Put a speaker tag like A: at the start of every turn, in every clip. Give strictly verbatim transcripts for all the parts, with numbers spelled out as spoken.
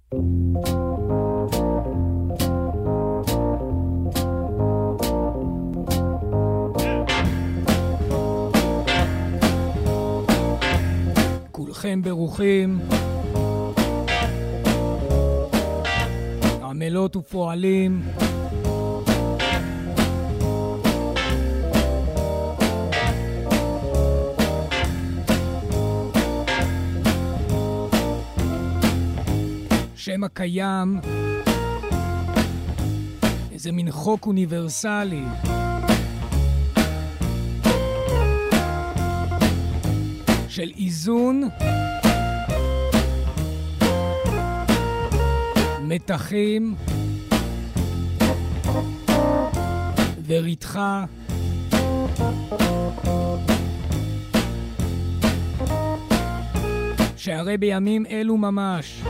A: כולכם ברוכים, עמלות ופועלים, שם הקיים, איזה מין חוק אוניברסלי, של איזון, מתחים וריתחה, שהרי בימים אלו ממש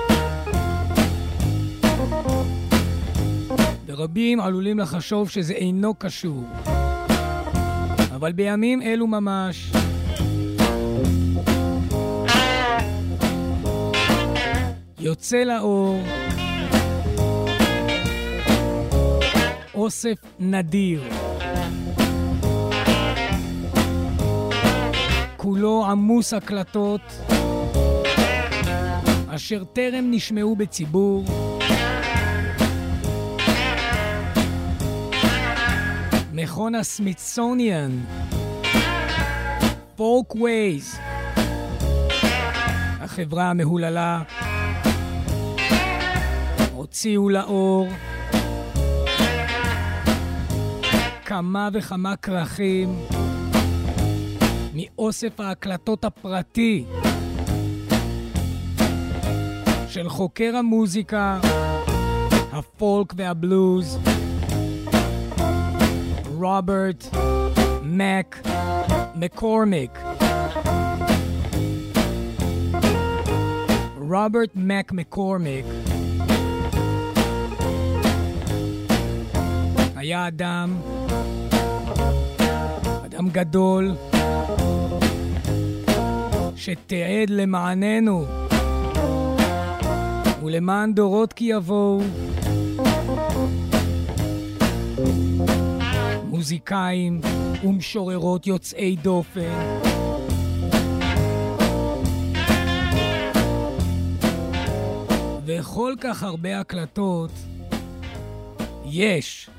A: ורבים עלולים לחשוב שזה אינו קשור, אבל בימים אלו ממש יוצא לאור אוסף נדיר, כולו עמוס הקלטות אשר טרם נשמעו בציבור, מכון הסמיתסוניאן פולקווייז, החברה המהוללה, הוציאו לאור כמה וכמה כרכים מאוסף ההקלטות הפרטי של חוקר המוזיקה, הפולק והבלוז, רוברט מק מקורמיק. רוברט מק מקורמיק היה אדם, אדם גדול, שתיעד למעננו ולמען דורות כי יבואו מוזיקאים ומשוררות יוצאי דופן, וכל כך הרבה הקלטות יש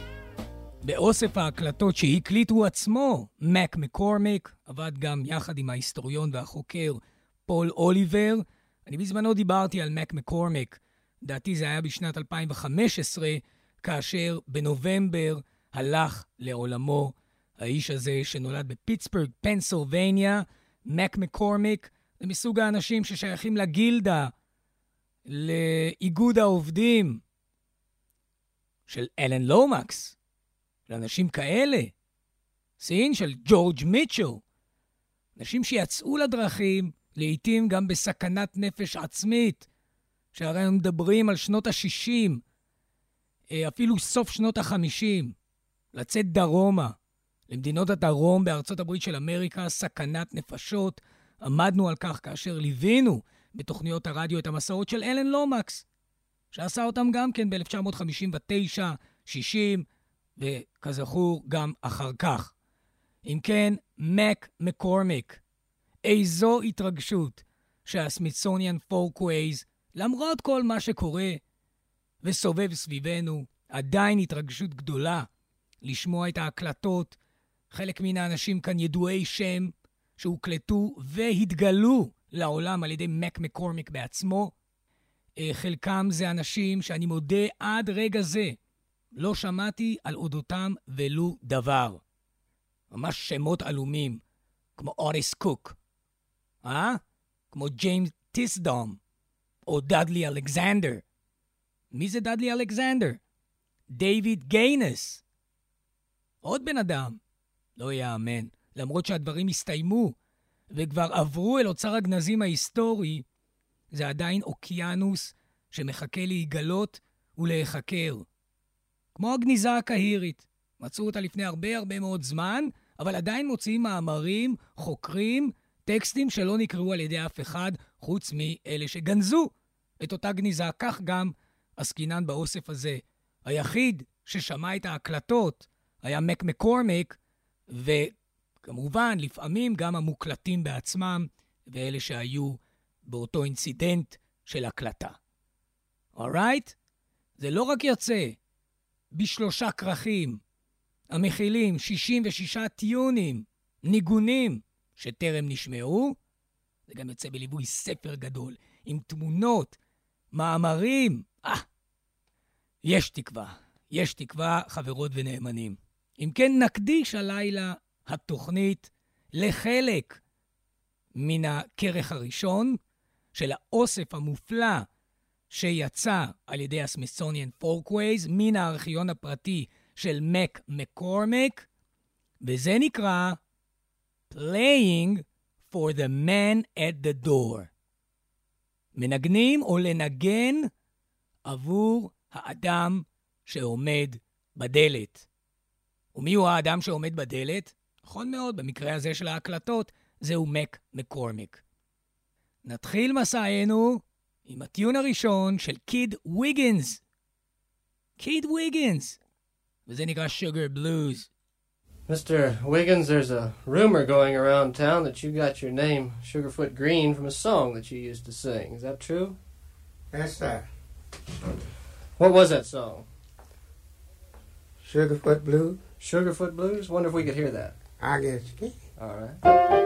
A: באוסף ההקלטות שהקליטו עצמו. מק מקורמיק עבד גם יחד עם ההיסטוריון והחוקר פול אוליבר. אני בזמנו דיברתי על מק מקורמיק, דעתי זה היה בשנת אלפיים וחמש עשרה, כאשר בנובמבר הלך לעולמו האיש הזה שנולד בפיטסבורג, פנסילבניה. מק מקורמיק זה מסוג האנשים ששייכים לגילדה, לאיגוד העובדים של אלן לומקס, לאנשים כאלה, סין של ג'ורג' מיטשל, אנשים שיצאו לדרכים, לעתים גם בסכנת נפש עצמית, שהרי הם מדברים על שנות ה-שישים, אפילו סוף שנות ה-חמישים, לצאת דרומה, למדינות הדרום בארצות הברית של אמריקה, סכנת נפשות. עמדנו על כך כאשר ליווינו בתוכניות הרדיו את המסעות של אלן לומקס, שעשה אותם גם כן ב-אלף תשע מאות חמישים ותשע, שישים, וכזכור גם אחר כך. אם כן, מק מקורמיק, איזו התרגשות שהסמיתסוניאן פולקווייז, למרות כל מה שקורה וסובב סביבנו, עדיין התרגשות גדולה לשמוע את ההקלטות. חלק מן האנשים כאן ידועי שם שהוקלטו והתגלו לעולם על ידי מק מקורמיק בעצמו. חלקם זה אנשים שאני מודה עד רגע זה לא שמעתי על אודותם ולו דבר. ממש שמות עלומים, כמו אוטיס קוק, אה? כמו ג'יימס טיסדום, או דאדלי אלכסנדר. מי זה דאדלי אלכסנדר? דיוויד גיינס. עוד בן אדם. לא יאמן. למרות שהדברים הסתיימו, וכבר עברו אל אוצר הגנזים ההיסטורי, זה עדיין אוקיינוס שמחכה להיגלות ולהיחקר. כמו הגניזה הקהירית. מצאו אותה לפני הרבה הרבה מאוד זמן, אבל עדיין מוציאים מאמרים, חוקרים, טקסטים שלא נקראו על ידי אף אחד, חוץ מאלה שגנזו את אותה גניזה, כך גם עסקינן באוסף הזה. היחיד ששמע את ההקלטות היה מק מקורמיק, וכמובן לפעמים גם המוקלטים בעצמם, ואלה שהיו באותו אינצידנט של הקלטה. alright? זה לא רק יוצא בשלושה כרכים, המכילים שישים ושישה טיונים, ניגונים שטרם נשמעו, זה גם יוצא בליווי ספר גדול, עם תמונות, מאמרים. אה, יש תקווה, יש תקווה, חברות ונאמנים. אם כן, נקדיש הלילה התוכנית לחלק מן הכרך הראשון של האוסף המופלא שיצא על ידי הסמית'סוניאן פולקווייז מן הארכיון הפרטי של מק מקורמיק, וזה נקרא Playing for the Man at the Door. מנגנים או לנגן עבור האדם שעומד בדלת. ומי הוא האדם שעומד בדלת? נכון מאוד, במקרה הזה של ההקלטות, זהו מק מקורמיק. נתחיל מסענו עם הטיון הראשון של קיד ויגינס. קיד ויגינס. וזה נקרא Sugar Blues.
B: Mister Wiggins, there's a rumor going around town that you got your name Sugarfoot Green from a song that you used to sing. Is that true?
C: Yes, sir.
B: What was that song?
C: Sugarfoot Blues.
B: Sugarfoot Blues? Wonder if we could hear that.
C: I guess you can.
B: All right.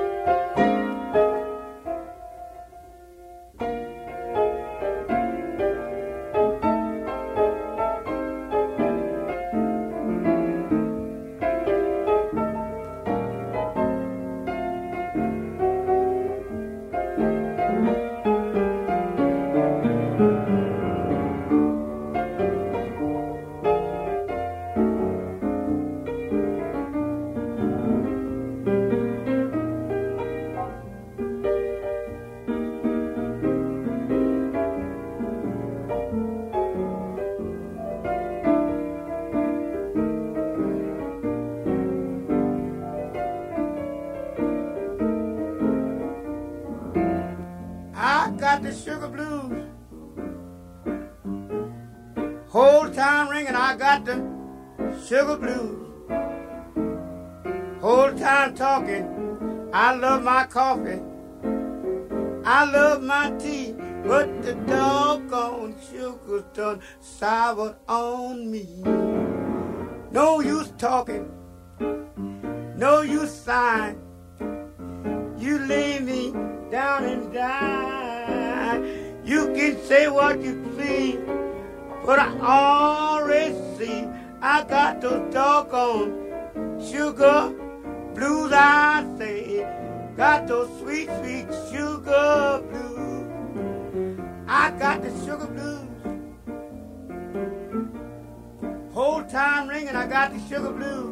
C: Got the sugar blues. Whole time ringing, I got the sugar blues. Whole time talking, I love my coffee. I love my tea, but the doggone sugar's done soured on me. No use talking, no use sighing. You lay me down and die. You can say what you please, but I already see I got those doggone sugar blues, I say. Got those sweet, sweet sugar blues. I got the sugar blues. Whole time ringing, I got the sugar blues.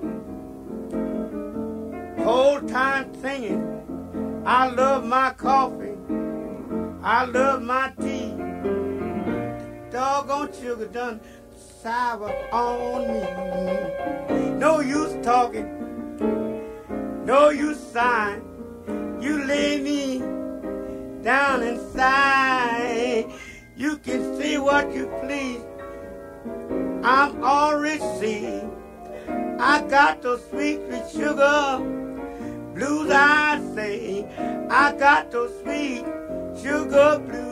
C: Whole time singing, I love my coffee. I love my tea. Doggone sugar done sour on me. No use talking, no use sighing. You lay me down inside. You can say what you please. I'm already seen. I got those sweet, sweet sugar blues, I say. I got those sweet sugar blues.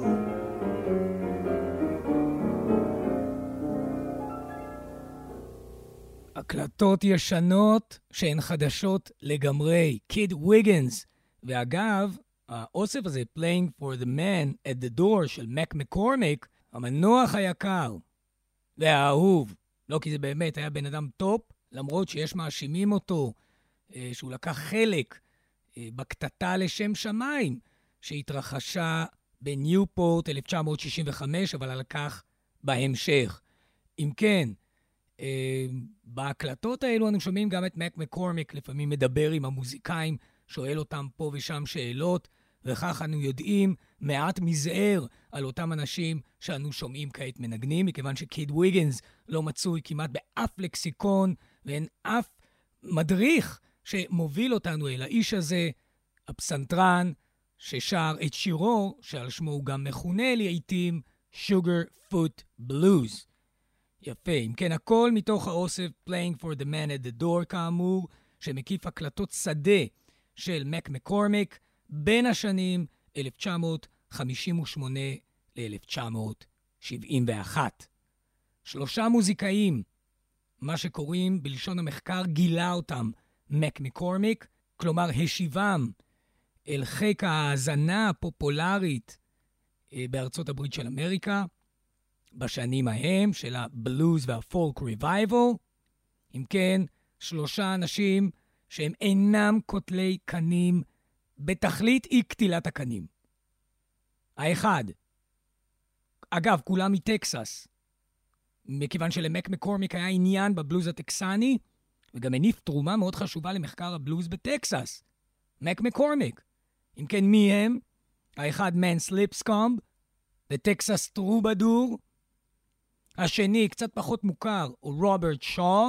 A: הקלטות ישנות שהן חדשות לגמרי. קיד ויגינס. ואגב, האוסף הזה, Playing for the Man at the Door של מק מקורמיק, המנוח היקר והאהוב, לא כי זה באמת היה בן אדם טופ, למרות שיש מאשימים אותו שהוא לקח חלק בקטטה לשם שמיים שהתרחשה בניופורט אלף תשע מאות שישים וחמש, אבל על כך בהמשך. אם כן, בהקלטות האלו אנו שומעים גם את מק מקורמיק לפעמים מדבר עם המוזיקאים, שואל אותם פה ושם שאלות, וכך אנו יודעים מעט מזער על אותם אנשים שאנו שומעים כעת מנגנים, מכיוון שקיד ויגינס לא מצוי כמעט באף לקסיקון, ואין אף מדריך שמוביל אותנו אל האיש הזה, הפסנתרן, ששר את שירו, שעל שמו הוא גם מכונה לעיתים, Sugarfoot Blues. יפה, אם כן הכל מתוך האוסף Playing for the Man at the Door כאמור, שמקיף הקלטות שדה של מק מקורמיק בין השנים אלף תשע מאות חמישים ושמונה ל-אלף תשע מאות שבעים ואחת. שלושה מוזיקאים, מה שקוראים בלשון המחקר גילה אותם מק מקורמיק, כלומר השיבם אל חיק ההאזנה הפופולרית בארצות הברית של אמריקה, בשנים ההם של הבלוז והפולק ריבייבל. אם כן, שלושה אנשים שהם אינם כותלי קנים בתכלית אי קטילת הקנים. האחד, אגב, כולם מטקסס, מכיוון שלמק מקורמיק היה עניין בבלוז הטקסני, וגם הניף תרומה מאוד חשובה למחקר הבלוז בטקסס. מק מקורמיק. אם כן, מי הם? האחד מנס ליפסקומב, בטקסס טרובדור. השני, קצת פחות מוכר, הוא רוברט שו.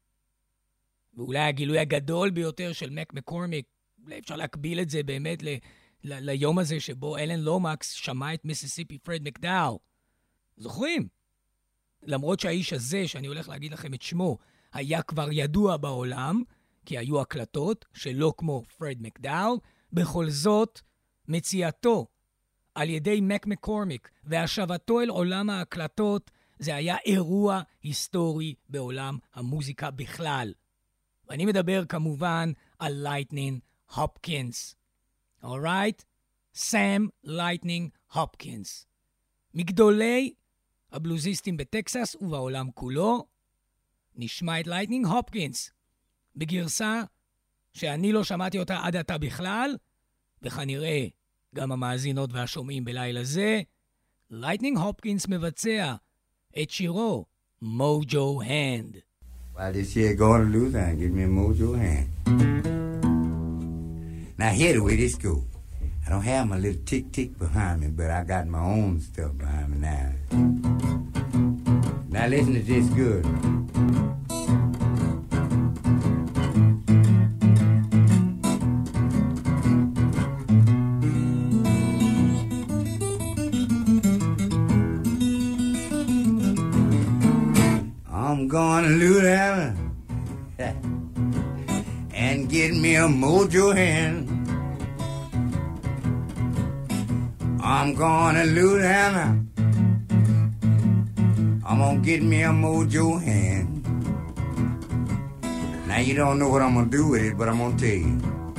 A: ואולי הגילוי הגדול ביותר של מק מקורמיק, אפשר להקביל את זה באמת ל, ל, ליום הזה שבו אלן לומקס שמע את מיסיסיפי פרד מקדאו. זוכרים? למרות שהאיש הזה, שאני הולך להגיד לכם את שמו, היה כבר ידוע בעולם, כי היו הקלטות שלא כמו פרד מקדאו, בכל זאת, מציאתו על ידי מק מקורמיק והשבתו אל עולם ההקלטות, זה היה אירוע היסטורי בעולם המוזיקה בכלל. ואני מדבר כמובן על לייטנינג הופקינס. Alright? סם לייטנינג הופקינס. מגדולי הבלוזיסטים בטקסס ובעולם כולו, נשמע את לייטנינג הופקינס בגרסה שאני לא שמעתי אותה עד עתה בכלל, וכנראה גם המאזינות והשומעים בלילה זה. לייטנינג הופקינס מבצע את שירו מוג'ו הנד.
C: While this year going to lose, I give me a mojo hand. Now here the way this go. I don't have my little tick tick behind me, but I got my own stuff behind me now. Now listen to this good. I'm gonna Louisiana and get me a mojo hand. I'm gonna Louisiana. I'm gonna get me a mojo hand. Now you don't know what I'm gonna do with it, but I'm gonna tell you.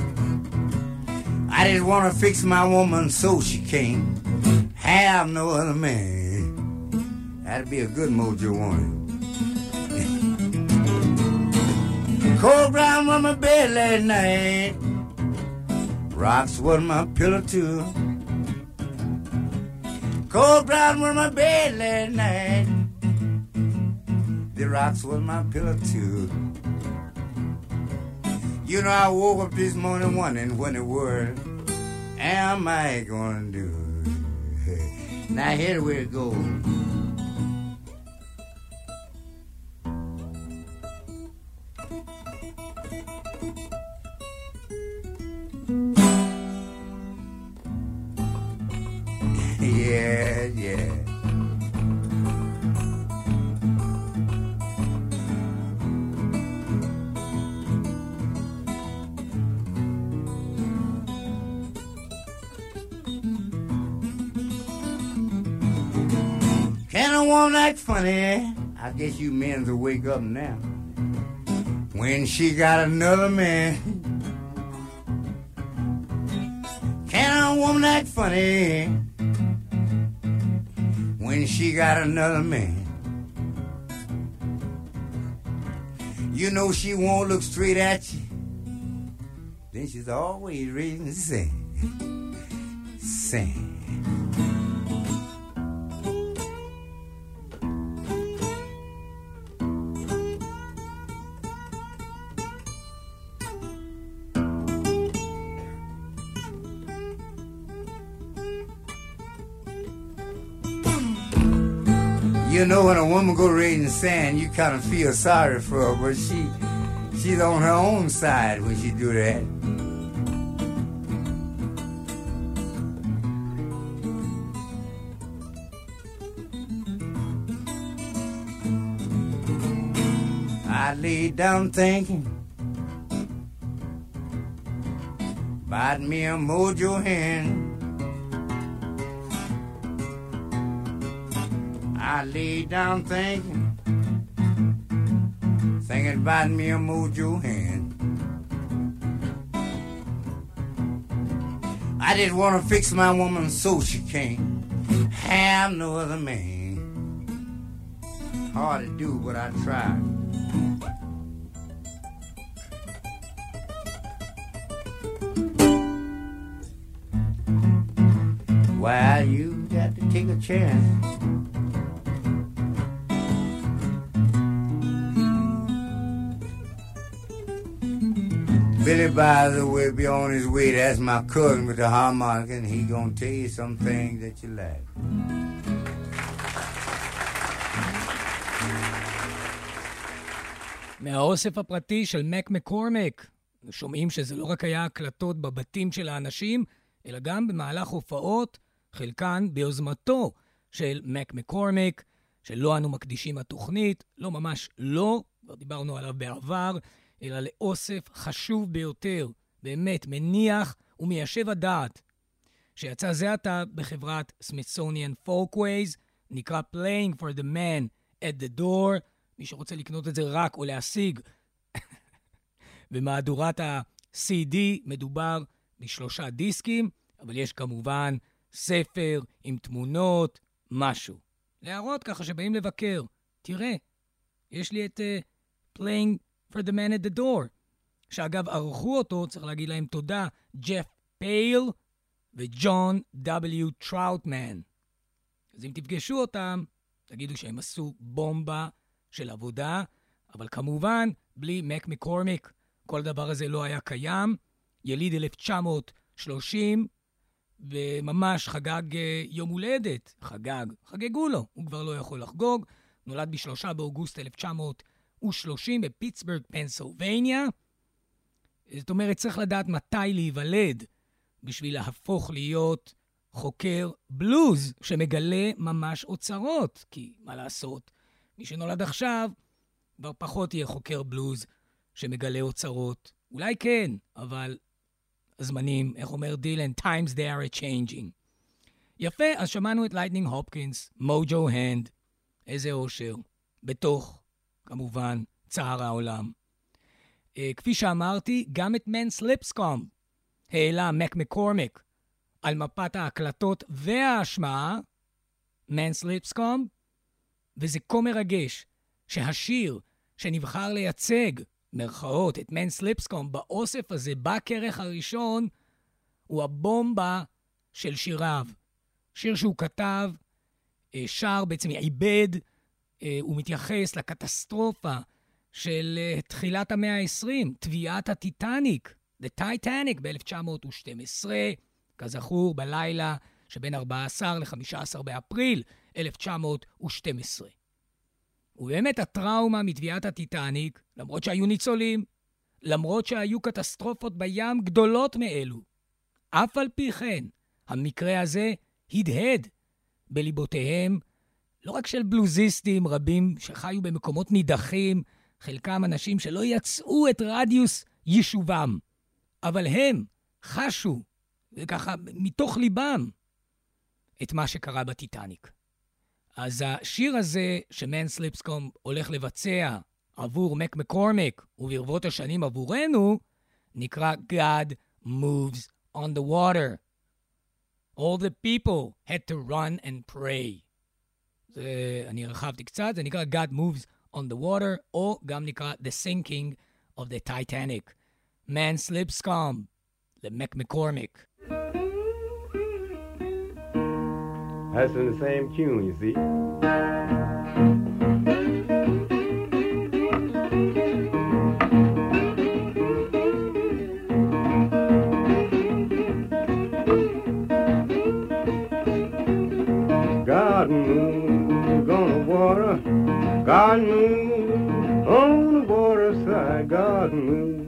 C: I just wanna fix my woman so she can't have no other man. That'd be a good mojo woman. Cold ground on my bed last night. Rocks was my pillow too. Cold ground on my bed last night. The rocks was my pillow too. You know I woke up this morning wondering what the word am I gonna do? Now here we go. Yeah, yeah. Can a woman act funny? I guess you men will wake up now. When she got another man. Can a woman act funny? When she got another man. You know she won't look straight at you. Then she's always raising the sand. Sand. You know, when a woman go raising sand, you kind of feel sorry for her, but she, she's on her own side when she do that. I lay down thinking about me a mojo hand. I lay down thinking, thinking about me a mojo hand. I just want to fix my woman so she can't have no other man. Hard to do, but I try. Well, you got to take a chance. Billy, by the way, be on his way. That's my cousin with the harmonica, and he gonna tell you some things that you like.
A: מהאוסף הפרטי של מק מקורמיק, שומעים שזה לא רק היה הקלטות בבתים של האנשים, אלא גם במהלך הופעות, חלקן ביוזמתו של מק מקורמיק, שלא אנו מקדישים התוכנית, לא ממש לא, כבר דיברנו עליו בעבר, אלא לאוסף חשוב ביותר, באמת מניח ומיישב הדעת, שיצא זה עתה בחברת Smithsonian Folkways, נקרא Playing for the Man at the Door, מי שרוצה לקנות את זה רק או להשיג. במהדורת ה-סי די מדובר בשלושה דיסקים, אבל יש כמובן ספר עם תמונות, משהו. להראות ככה שבאים לבקר. תראה, יש לי את uh, Playing for the Man at the Door, שאגב ערכו אותו, צריך להגיד להם תודה, ג'ף פייל וג'ון דאבליו טראוטמן. אז אם תפגשו אותם, תגידו שהם עשו בומבה של עבודה, אבל כמובן, בלי מק מקורמיק, כל דבר הזה לא היה קיים. יליד אלף תשע מאות שלושים, וממש חגג יום הולדת, חגג, חגגו לו, הוא כבר לא יכול לחגוג, נולד בשלושה באוגוסט אלף תשע מאות ושלושים בפיטסבורג, פנסילבניה. זאת אומרת, צריך לדעת מתי להיוולד, בשביל להפוך להיות חוקר בלוז, שמגלה ממש אוצרות, כי מה לעשות? מי שנולד עכשיו, כבר פחות יהיה חוקר בלוז שמגלה אוצרות. אולי כן, אבל הזמנים, איך אומר דילן, times they are changing. יפה, אז שמענו את לייטנינג הופקינס, מוג'ו הנד, איזה אושר, בתוך, כמובן, צער העולם. Uh, כפי שאמרתי, גם את מנס ליפסקום העלה מק מקורמיק על מפת ההקלטות וההשמעה, מנס ליפסקום, וזה כה מרגש שהשיר שנבחר לייצג, מרכאות, את מנס ליפסקום באוסף הזה, בכרך הראשון, הוא הבומבה של שיריו. שיר שהוא כתב, שר, בעצם עיבד, הוא מתייחס לקטסטרופה של תחילת המאה ה-עשרים, טביעת הטיטניק, The Titanic ב-אלף תשע מאות ושתים עשרה, כזכור בלילה שבין ארבעה עשר ל-חמישה עשר באפריל אלף תשע מאות ושתים עשרה. ובאמת הטראומה מטביעת הטיטניק, למרות שהיו ניצולים, למרות שהיו קטסטרופות בים גדולות מאלו, אף על פי כן, המקרה הזה הדהד בליבותיהם, לא רק של בלוזיסטים רבים שחיו במקומות נידחים, חלקם אנשים שלא יצאו את רדיוס יישובם, אבל הם חשו, וככה מתוך ליבם, את מה שקרה בטיטניק. אז השיר הזה שמנס ליפסקום הולך לבצע עבור מק מקורמיק וברבות השנים עבורנו, נקרא God Moves on the Water. All the people had to run and pray. זה, אני רחבתי קצת, זה נקרא God Moves on the Water, או גם נקרא The Sinking of the Titanic. מנס ליפסקום, למק מקורמיק.
D: That's in the same tune, you see. God moves on the water, God moves on the water side, God moves.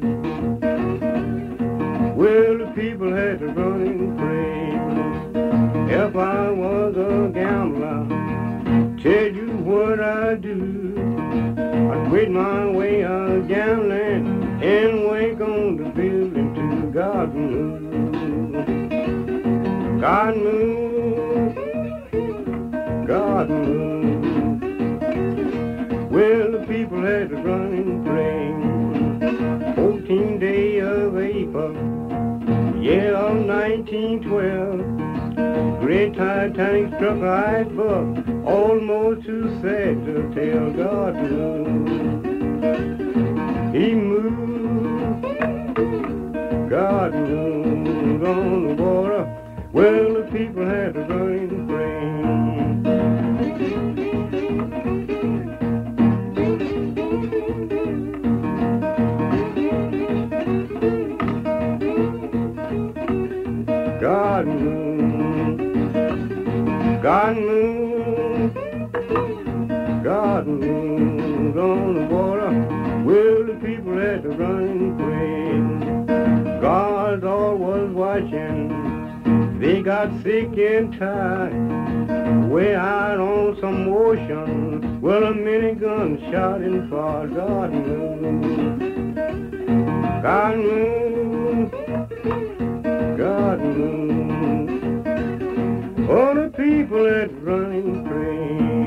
D: Well, the people had to run and pray. If I was a gambler, tell you what I'd do. I'd quit my way of gambling and wake on the building to God move. God move, God move. Well, the people had to run and pray. fourteenth day of April, year of nineteen twelve. Great Titanic struck an iceberg, almost too sad to tell. God moved, He moved, God moved on the water. Well, the people had to run and pray. God moved, God moved, God moved on the water. Well, the people had to run and pray. God all was watching. They got sick and tired, way out on some ocean. Well, a minigun shot and fired. God moved, God moved, God moved. All the people that run and pray.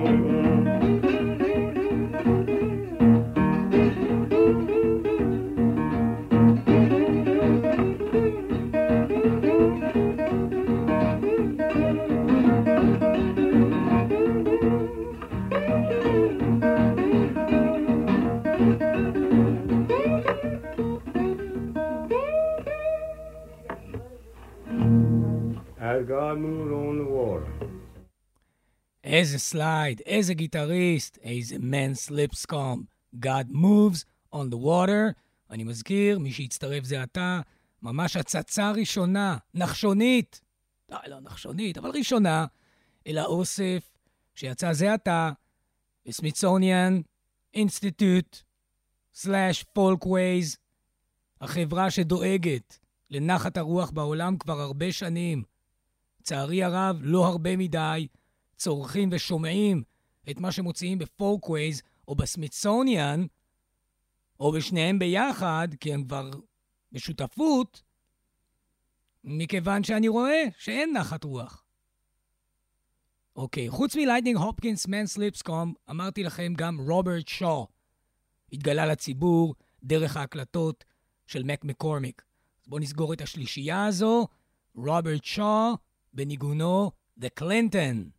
D: As God moved on the water.
A: איזה סלייד, איזה גיטריסט, איזה man's lipscomb. God moves on the water. אני מזכיר, מי שהצטרף זה אתה, ממש הצצה ראשונה, נחשונית, לא, לא נחשונית, אבל ראשונה, אל האוסף שיצא זה אתה, בסמיתסוניאן אינסטיטוט סלאש פולקווייז, החברה שדואגת לנחת הרוח בעולם כבר הרבה שנים. צערי הרב, לא הרבה מדי, צורכים ושומעים את מה שמוציאים בפולקווייז או בסמיתסוניאן, או בשניהם ביחד, כי הם כבר בשותפות, מכיוון שאני רואה שאין נחת רוח. אוקיי, חוץ מלייטנינג הופקינס, man's lipscomb, אמרתי לכם גם רוברט שו. התגלה לציבור דרך ההקלטות של מק מקורמיק. אז בואו נסגור את השלישייה הזו. רוברט שו בניגונו The Clinton.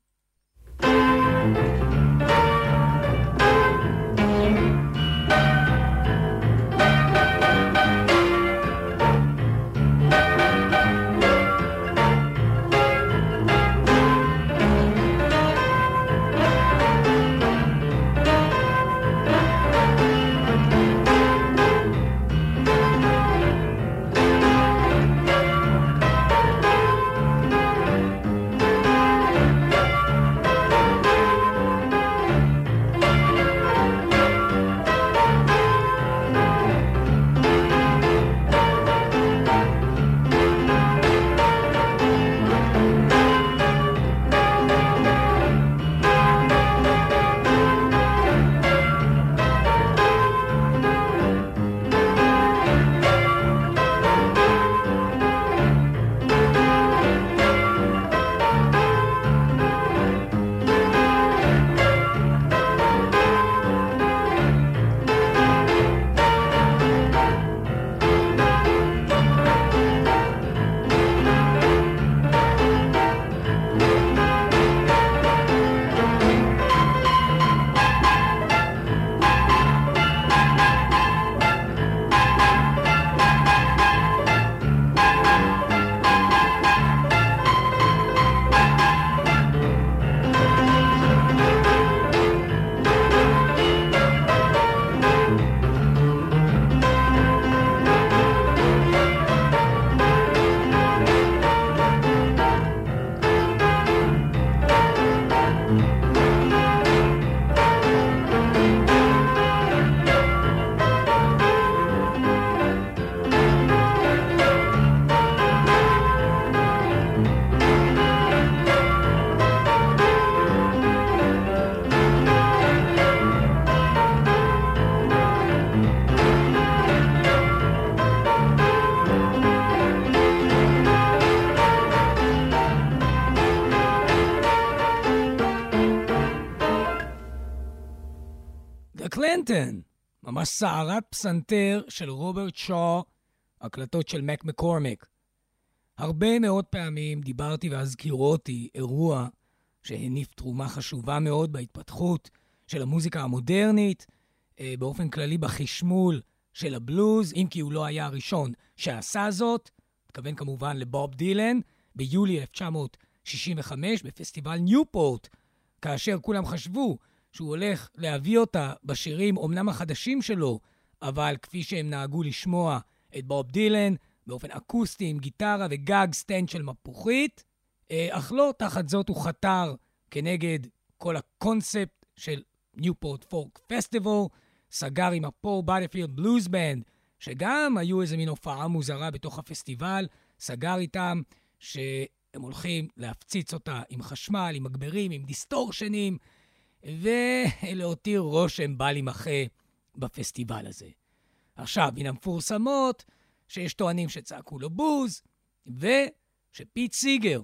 A: קלינטון, ממש סערת פסנתר של רוברט שו, הקלטות של מק מקורמיק. הרבה מאוד פעמים דיברתי והזכירותי אירוע שהניף תרומה חשובה מאוד בהתפתחות של המוזיקה המודרנית, באופן כללי בחשמול של הבלוז, אם כי הוא לא היה הראשון שעשה זאת, מתכוון כמובן לבוב דילן, ביולי אלף תשע מאות שישים וחמש בפסטיבל ניופורט, כאשר כולם חשבו שהוא הולך להביא אותה בשירים אומנם החדשים שלו, אבל כפי שהם נהגו לשמוע את בוב דילן, באופן אקוסטי עם גיטרה וגג סטנד של מפוחית, אך לא תחת זאת הוא חתר כנגד כל הקונספט של ניופורט פולק פסטיבל, סגר עם הפול בודיפילד בלוז בנד, שגם היו איזה מין הופעה מוזרה בתוך הפסטיבל, סגר איתם שהם הולכים להפציץ אותה עם חשמל, עם מגברים, עם דיסטורשנים, ולהותיר רושם בל יימחה בפסטיבל הזה. עכשיו, מן המפורסמות, שיש טוענים שצעקו לו בוז, ושפיט סיגר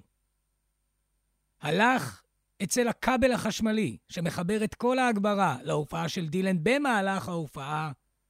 A: הלך אצל הכבל החשמלי, שמחבר את כל ההגברה להופעה של דילן במהלך ההופעה.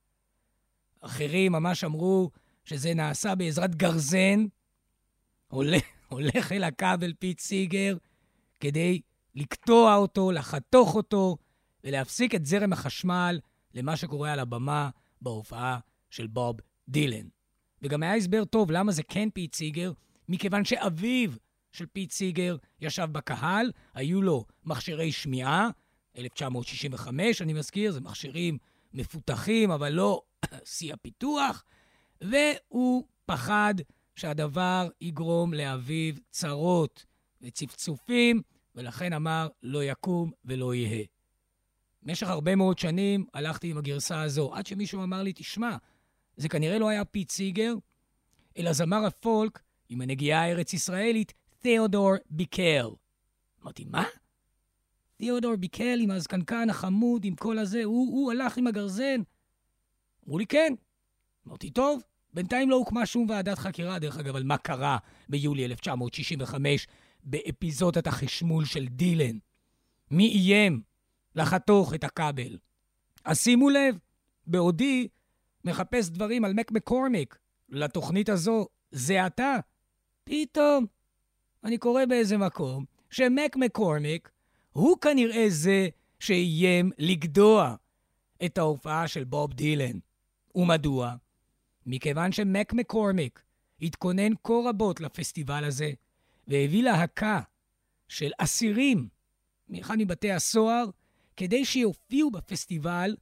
A: אחרים ממש אמרו שזה נעשה בעזרת גרזן, הולך, הולך אל הכבל פיט סיגר, כדי לקטוע אותו, לחתוך אותו, ולהפסיק את זרם החשמל למה שקורה על הבמה בהופעה של בוב דילן. וגם היה הסבר טוב למה זה כן פיט סיגר, מכיוון שאביו של פיט סיגר ישב בקהל, היו לו מכשירי שמיעה, אלף תשע מאות שישים וחמש, אני מזכיר, זה מכשירים מפותחים, אבל לא שיא הפיתוח, והוא פחד שהדבר יגרום לאביו צרות וצפצופים, ולכן אמר, לא יקום ולא יהיה. במשך הרבה מאוד שנים הלכתי עם הגרסה הזו, עד שמישהו אמר לי, תשמע, זה כנראה לא היה פיט סיגר, אלא זמר הפולק עם הנגיעה הארץ-ישראלית, תיאודור ביקל. אמרתי, מה? תיאודור ביקל עם הזקנקן החמוד, עם כל הזה, הוא, הוא הלך עם הגרזן. אמרו לי, כן. אמרתי, טוב, בינתיים לא הוקמה שום ועדת חקירה, דרך אגב, על מה קרה ביולי אלף תשע מאות שישים וחמש באפיזודת החשמול של דילן. מי איים לחתוך את הכבל? אז שימו לב, בעודי מחפש דברים על מק מקורמיק, לתוכנית הזו, זה אתה. פתאום אני קורא באיזה מקום שמק מקורמיק הוא כנראה זה שאיים לגדוע את ההופעה של בוב דילן. ומדוע? מכיוון שמק מקורמיק התכונן כה רבות לפסטיבל הזה, והביא להקה של אסירים מאחד מבתי הסוהר, כדי שיופיעו בפסטיבל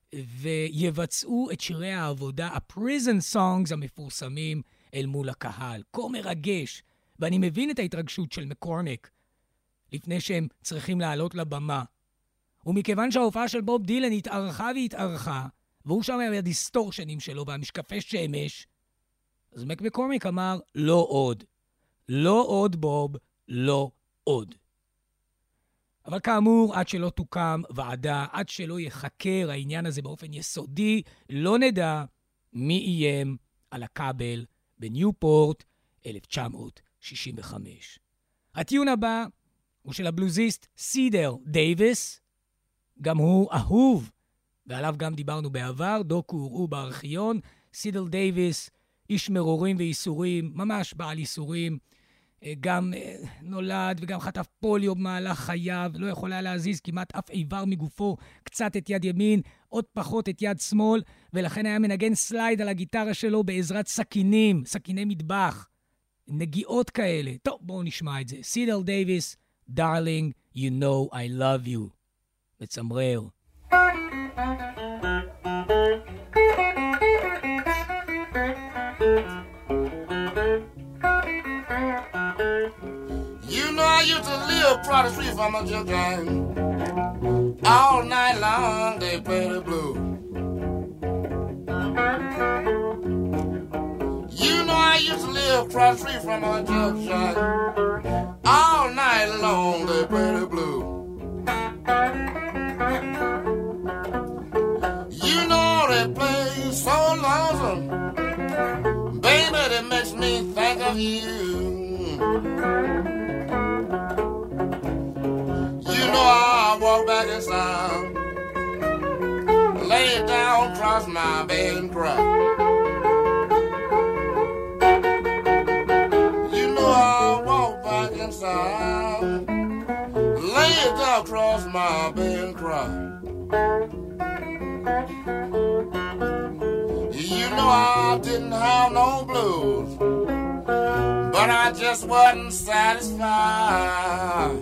A: ויבצעו את שירי העבודה, ה-prison songs המפורסמים אל מול הקהל. כה מרגש, ואני מבין את ההתרגשות של מקורמיק, לפני שהם צריכים לעלות לבמה. ומכיוון שההופעה של בוב דילן התארכה והתארכה, והוא שם היה הדיסטורשנים שלו והמשקפי שמש, אז מק מקורמיק אמר, לא עוד. לא עוד בוב, לא עוד. אבל כאמור, עד שלא תוקם ועדה, עד שלא יחקר העניין הזה באופן יסודי, לא נדע מי איים על הכבל בניופורט אלף תשע מאות שישים וחמש. הטיון הבא הוא של הבלוזיסט סידר דייביס, גם הוא אהוב, ועליו גם דיברנו בעבר, דוקו הוראו בארכיון. סידר דייביס, איש מרורים ואיסורים, ממש בעל איסורים, גם נולד וגם חטף פוליו במהלך חייו, לא יכול היה להזיז כמעט אף איבר מגופו, קצת את יד ימין, עוד פחות את יד שמאל, ולכן היה מנגן סלייד על הגיטרה שלו בעזרת סכינים, סכיני מטבח, נגיעות כאלה. טוב, בואו נשמע את זה. סידר דייביס, Darling, you know I love you. מצמרר.
E: I used to live across the street from a children. All night long they play the blues. You know I used to live across the street from a children. All night long they play the blues. You know they play so lonesome, baby, that makes me think of you. You know I walk back inside across my bed and cry. You know I walk back inside, lay it down across my bed and cry. You know I didn't have no blues, but I just wasn't satisfied.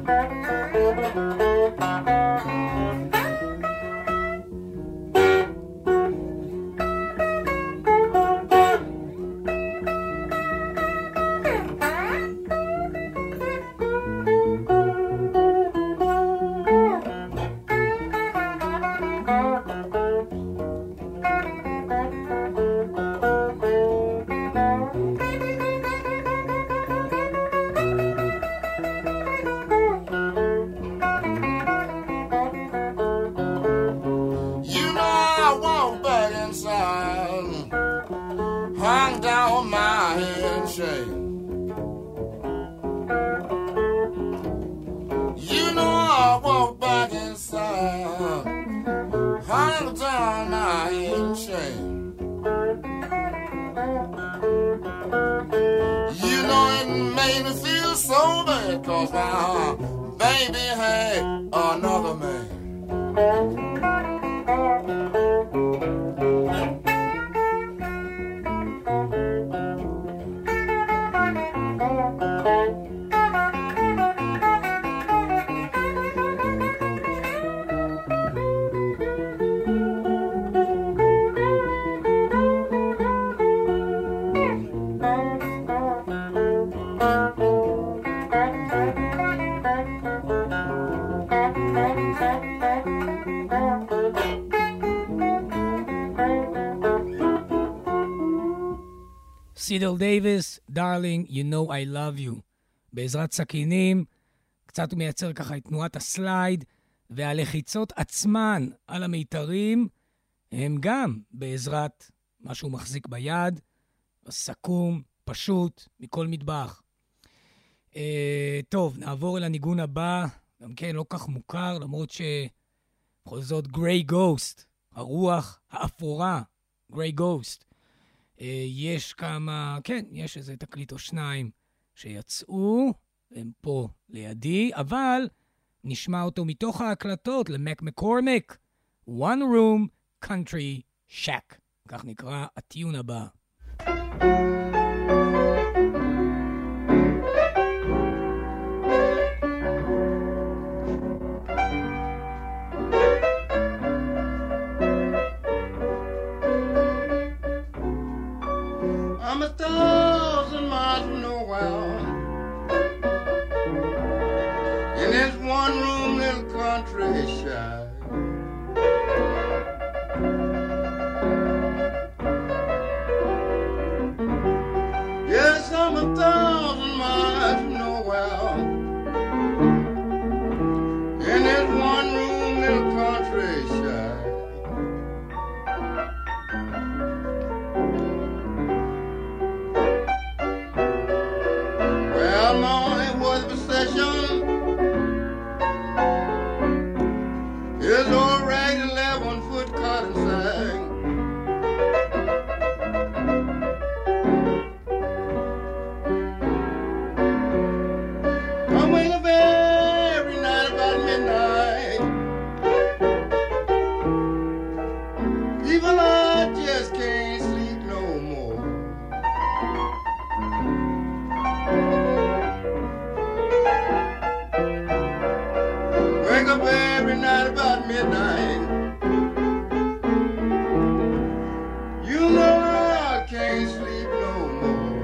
E: Hung down my head in shame. You know I walked back inside, hung down my head in shame. You know it made me feel so bad, 'cause my baby had another man.
A: סידל דייביס, Darling, You Know I Love You. בעזרת סכינים, קצת הוא מייצר ככה את תנועת הסלייד, והלחיצות עצמן על המיתרים, הם גם בעזרת מה שהוא מחזיק ביד, סכום, פשוט, מכל מטבח. אה, טוב, נעבור אל הניגון הבא, גם כן לא כך מוכר, למרות שבכל זאת גריי גוסט, הרוח האפורה, גריי גוסט. יש כמה, כן, יש איזה תקליט או שניים שיצאו, הם פה לידי, אבל נשמע אותו מתוך ההקלטות למק מקורמק, One Room Country Shack, כך נקרא הטיון הבא.
C: I'm a thousand miles from nowhere, in this one room little country shack. Yes, I'm a thousand miles from nowhere, in this one room little country shack. His old ragged eleven foot cotton sack. I wake up every night about midnight. People, I just can't sleep no more. Wake up every night about midnight. You know I can't sleep no more.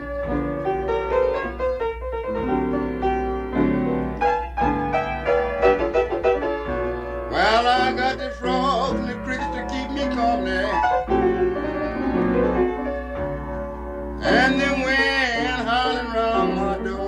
C: Well, I got the frogs and the crickets to keep me company, and the wind howling round my door.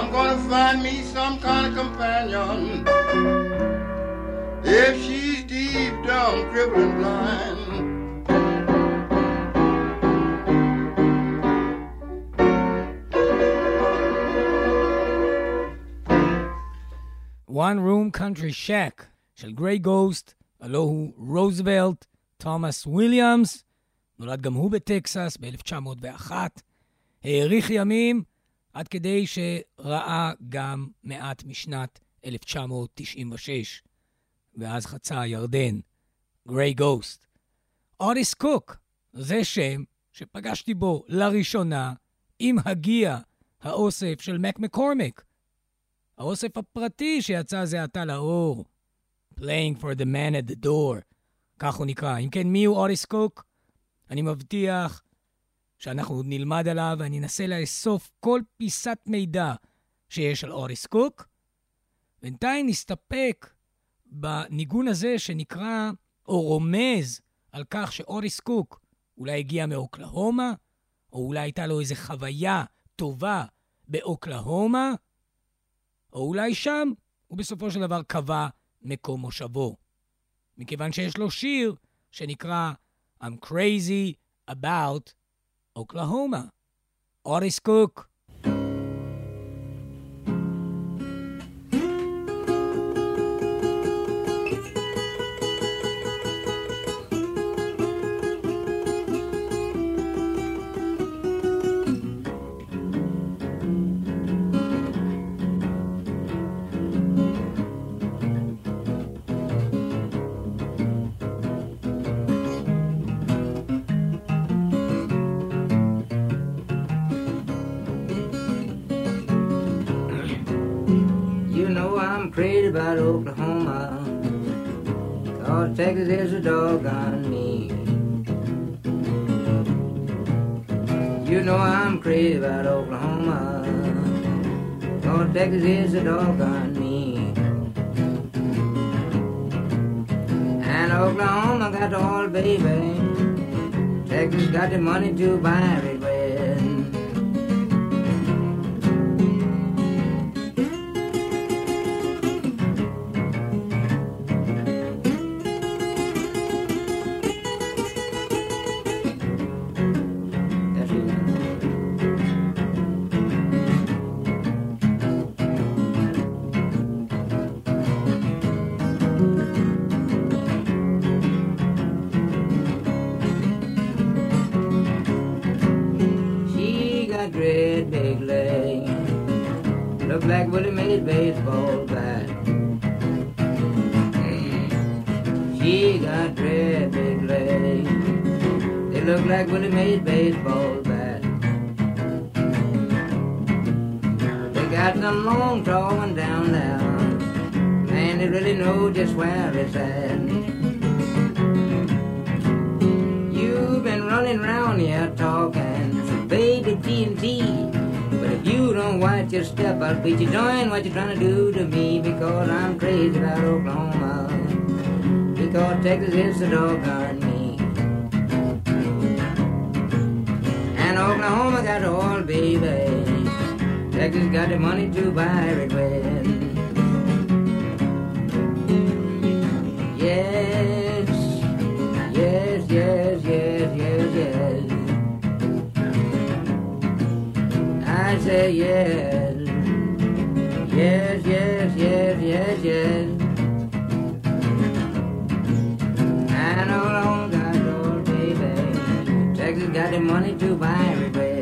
C: I'm gonna find me some kind of companion. If she's deep down, crippled and blind.
A: One Room Country Shack של גריי גוסט, הלו הוא רוזוולט תומאס וויליאמס, נולד גם הוא בטקסס ב-אלף תשע מאות ואחת, האריך ימים עד כדי שראה גם מעט משנת אלף תשע מאות תשעים ושש, ואז חצה הירדן. גריי גוסט. אוטיס קוק, זה שם שפגשתי בו לראשונה עם הגיע האוסף של מק מקורמיק, האוסף הפרטי שיצא זה עתה לאור. Playing for the man at the door. כך הוא נקרא. אם כן, מי הוא אוטיס קוק? אני מבטיח שאנחנו עוד נלמד עליו, ואני אנסה לאסוף כל פיסת מידע שיש על אוטיס קוק. בינתיים נסתפק בניגון הזה שנקרא, או רומז, על כך שאוטיס קוק אולי הגיע מאוקלהומה, או אולי הייתה לו איזו חוויה טובה באוקלהומה, או אולי שם הוא בסופו של דבר קבע מקום מושבו. מכיוון שיש לו שיר שנקרא I'm Crazy About Oklahoma. אוטיס קוק.
F: Crazy about Oklahoma, 'cause Texas is a doggone me. You know I'm crazy about Oklahoma, 'cause Texas is a doggone me. And Oklahoma got the oil, baby. Texas got the money to buy it with. Like Willie Mays baseball bat. She got red big legs. They look like Willie Mays baseball bat. They got some long tall one down there. Man, they really know just where it's at. You've been running around here talking baby T N T. If you don't watch your step, I'll beat you doing what you're trying to do to me, because I'm crazy about Oklahoma, because Texas is a doggone me. And Oklahoma got the oil, baby. Texas got the money to buy it with. Yes, yes, yes, yes, yes, yes. I say yes, yes, yes, yes, yes, yes. I know long got old baby. Texas got the money to buy it with.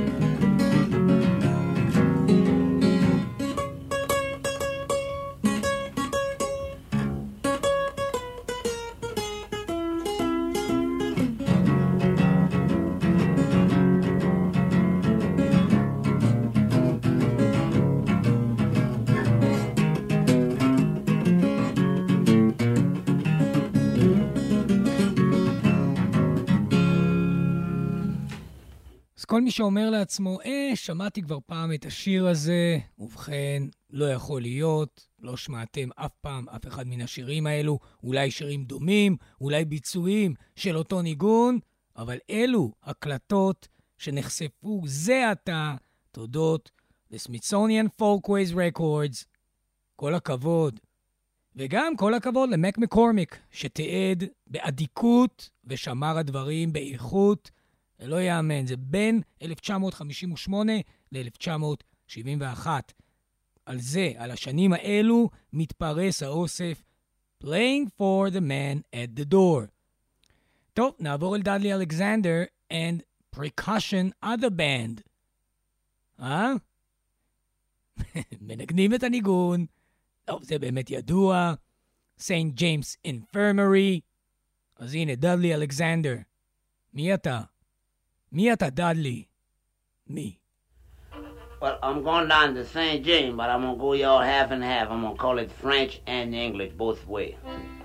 A: כל מי שאומר לעצמו, אה, שמעתי כבר פעם את השיר הזה, ובכן, לא יכול להיות, לא שמעתם אף פעם אף אחד מן השירים האלו, אולי שירים דומים, אולי ביצועים של אותו ניגון, אבל אלו הקלטות שנחשפו זה עתה, תודות ל-Smithsonian Folkways Records. כל הכבוד. וגם כל הכבוד למק מקורמיק, שתיעד באדיקות ושמר הדברים באיכות. זה לא יאמן, זה בין אלף תשע מאות חמישים ושמונה ל-אלף תשע מאות שבעים ואחת. על זה, על השנים האלו, מתפרס האוסף Playing for the Man at the Door. טוב, נעבור אל דאדלי אלכסנדר and Percussion Other Band. אה? מנגנים את הניגון. טוב, זה באמת ידוע. Saint James Infirmary. אז הנה, דאדלי אלכסנדר. מי אתה? מי אתה, דאדלי? מי?
G: Well, I'm going down to Saint James, but I'm going to go y'all half and half. I'm going to call it French and English both ways.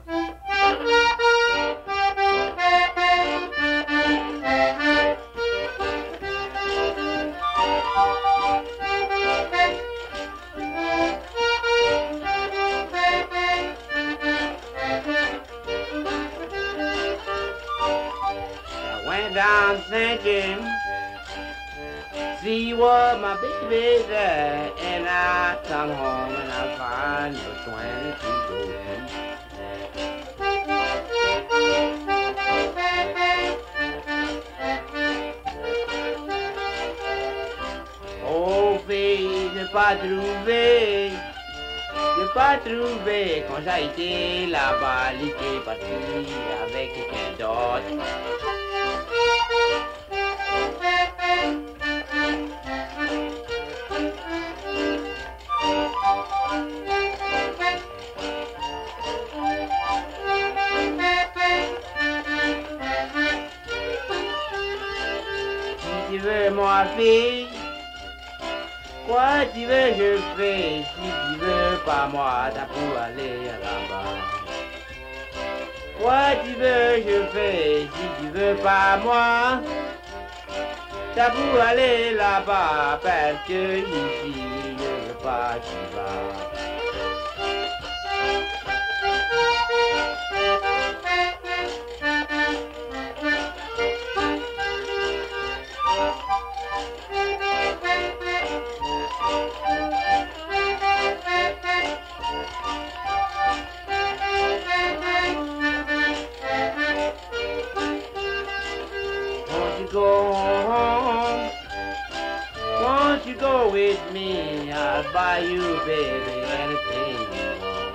G: I went down to Saint James, see what my baby's at, and I come home and I find the twenty-two gold. Oh, fille, j'ai pas trouvé, j'ai pas trouvé, quand j'ai été là-bas, il était parti avec quelqu'un d'autre. Si tu veux, moi, fille, quoi tu veux, je fais. Si tu veux pas moi, t'as pour aller là-bas. Quoi tu veux, je fais. Si tu veux pas moi, t'as pour aller là-bas. Parce que ici, je veux pas que tu vas. Go home, won't you go with me? I'll buy you, baby, anything you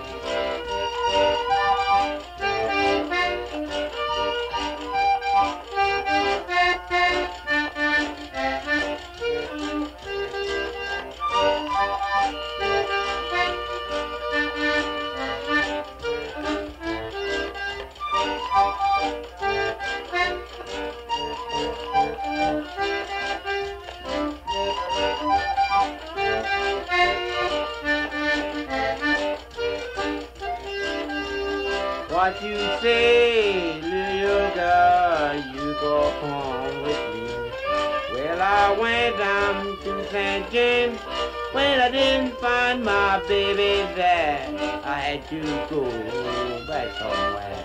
G: What you say, little girl, you go home with me. Well, I went down to Saint James. When I didn't find my baby there, I had to go back somewhere.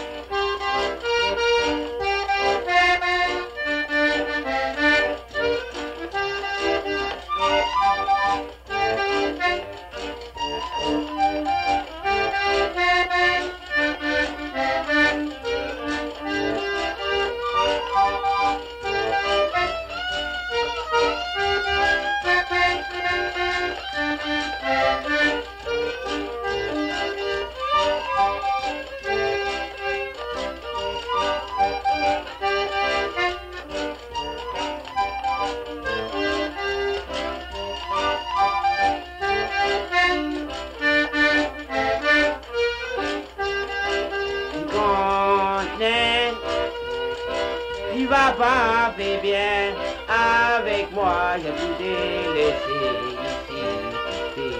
G: Papa fait bien avec moi, je vous ai laissé ici.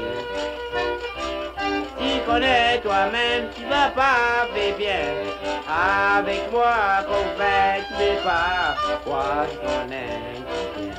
G: Tu connais toi-même, tu vas pas faire bien avec moi, qu'on fait, tu sais pas quoi je connais bien.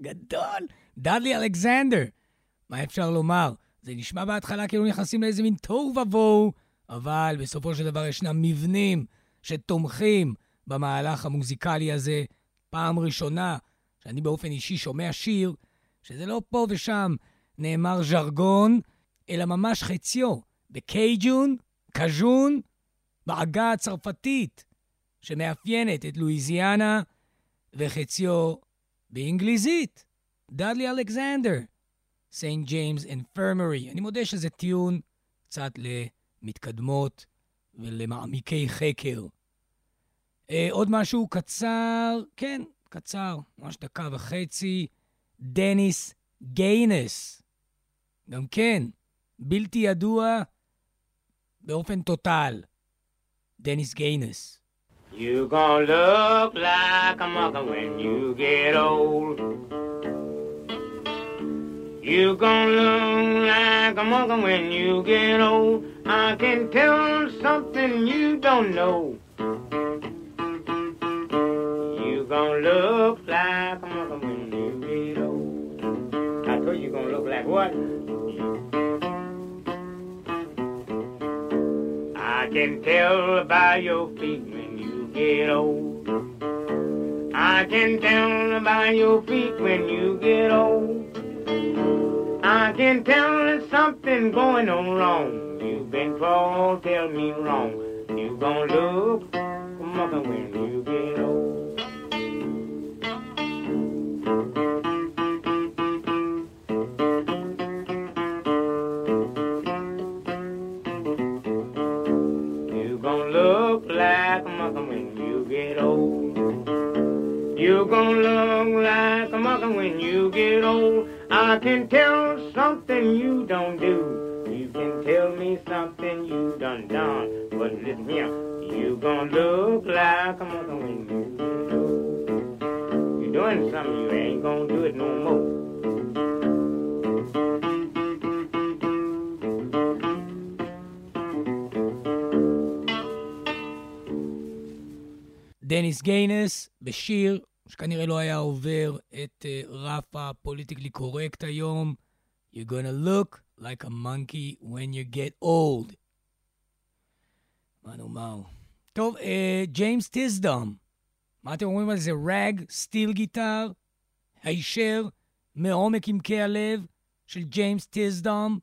A: גדול. דאדלי אלכסנדר. מה אפשר לומר? זה נשמע בהתחלה כאילו נכנסים לאיזה מין תוהו ובוהו, אבל בסופו של דבר ישנם מבנים שתומכים במהלך המוזיקלי הזה. פעם ראשונה שאני באופן אישי שומע שיר, שזה לא פה ושם נאמר ז'רגון, אלא ממש חציו, בקייג'ון, קז'ון, בעגה הצרפתית, שמאפיינת את לואיזיאנה, וחציו באנגליזית. דאדלי אלכסנדר, Saint James Infirmary. אני מודה שזה טיון קצת למתקדמות ולמעמיקי חקר. אה, עוד משהו קצר, כן, קצר, ממש דקה וחצי, דניס גיינס. גם כן, בלתי ידוע באופן טוטל. דניס גיינס.
G: You gonna look like a mother when you get old. You gonna look like a mother when you get old. I can tell something you don't know. You gonna look like a mother when you get old. I told you you gonna look like what? I can tell by your feet when you get old. I can tell by your feet when you get old. I can tell there's something going on wrong. You've been called, tell me wrong. You gon' look for mother when you get old. You gon' look like a mother when you get old. You gon' look like a mother when you get old. I can tell something you don't do. You can tell me something you done done. But listen here, you gon' look like a mother when you get old. You doing something, you ain't gon' do it no more.
A: דניס גיינס בשיר שכנראה לא היה עובר את uh, רף הפוליטיקלי קורקט היום. You're gonna look like a monkey when you get old. מה נאמר? טוב, ג'יימס טיסדאם. מה אתם אומרים על זה? רג, סטיל גיטר, הישר, מעומק עמקי הלב של ג'יימס טיסדאם.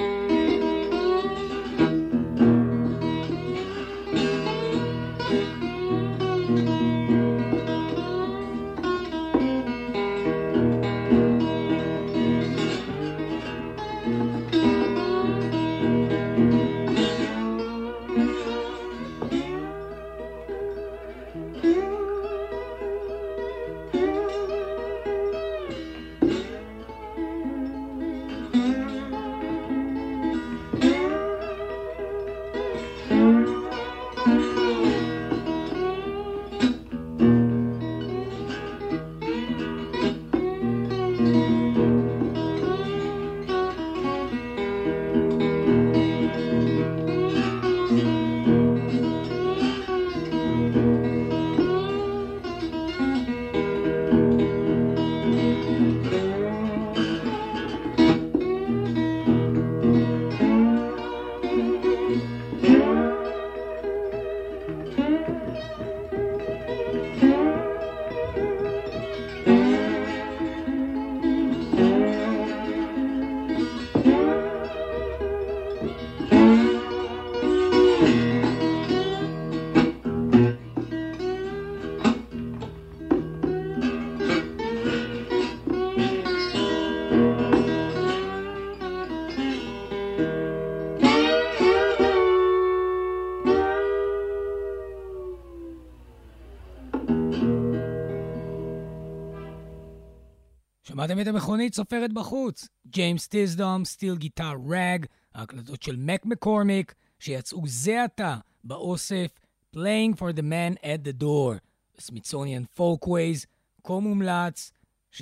A: שמעתם את המכונית סופרת בחוץ. ג'יימס טיסדאם, סטיל גיטר רג, ההקלטות של מק מקורמיק, שיצאו זה עתה באוסף Playing for the Man at the Door, Smithsonian Folkways, כה מומלץ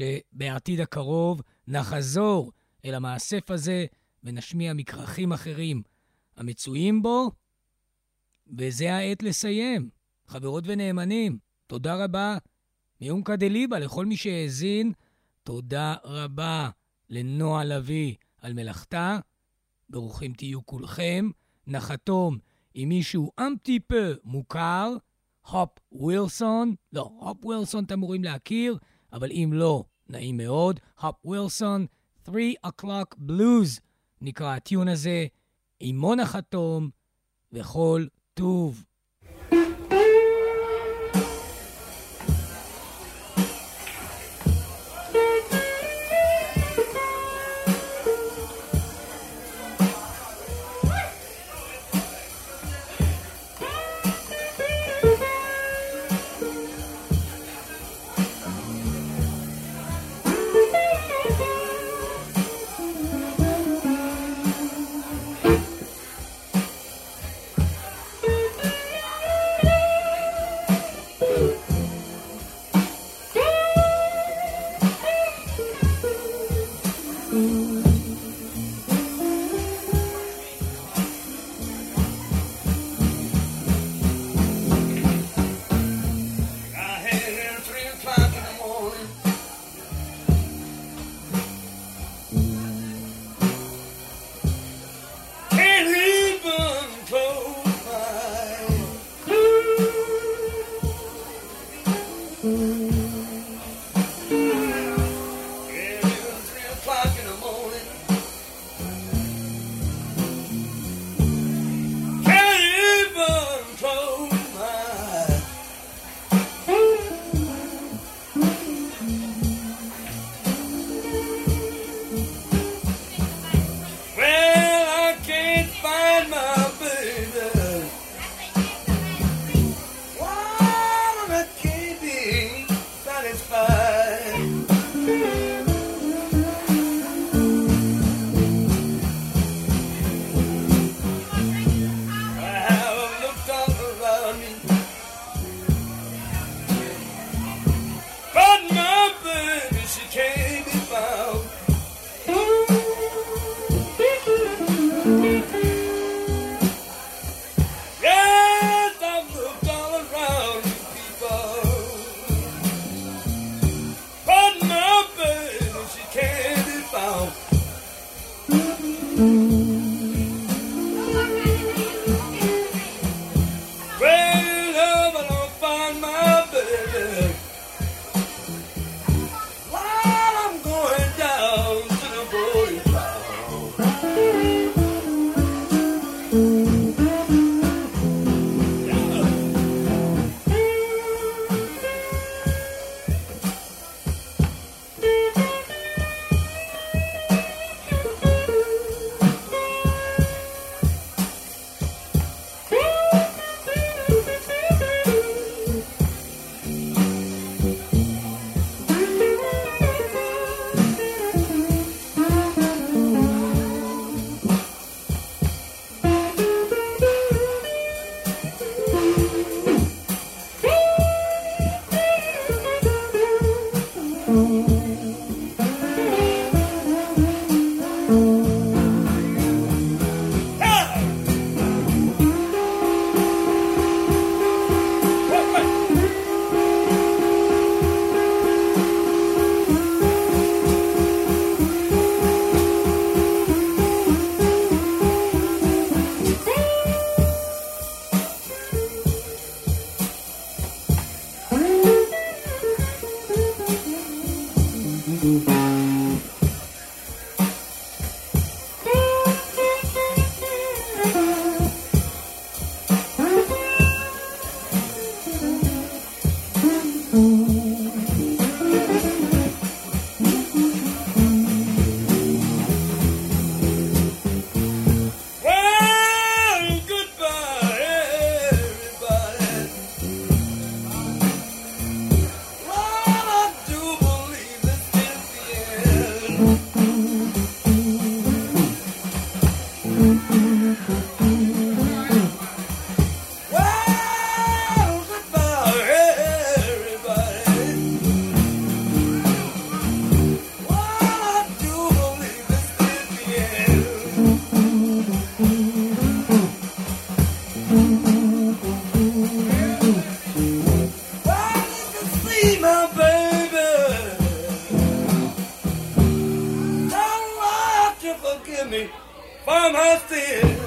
A: שבעתיד הקרוב נחזור אל המאסף הזה ונשמיע מקרחים אחרים המצויים בו, וזה העת לסיים. חברות ונאמנים, תודה רבה מיומקה דליבה לכל מי שהאזין, תודה רבה לנועה לוי על מלאכתה. ברוכים תהיו כולכם. נחתום עם מישהו אמטיפה מוכר, הופ ווילסון. לא, הופ ווילסון אתם אמורים להכיר, אבל אם לא, נעים מאוד. הופ ווילסון, three o'clock blues נקרא הטיון הזה, עם מונה חתום וכל טוב.
H: farmhouse thin.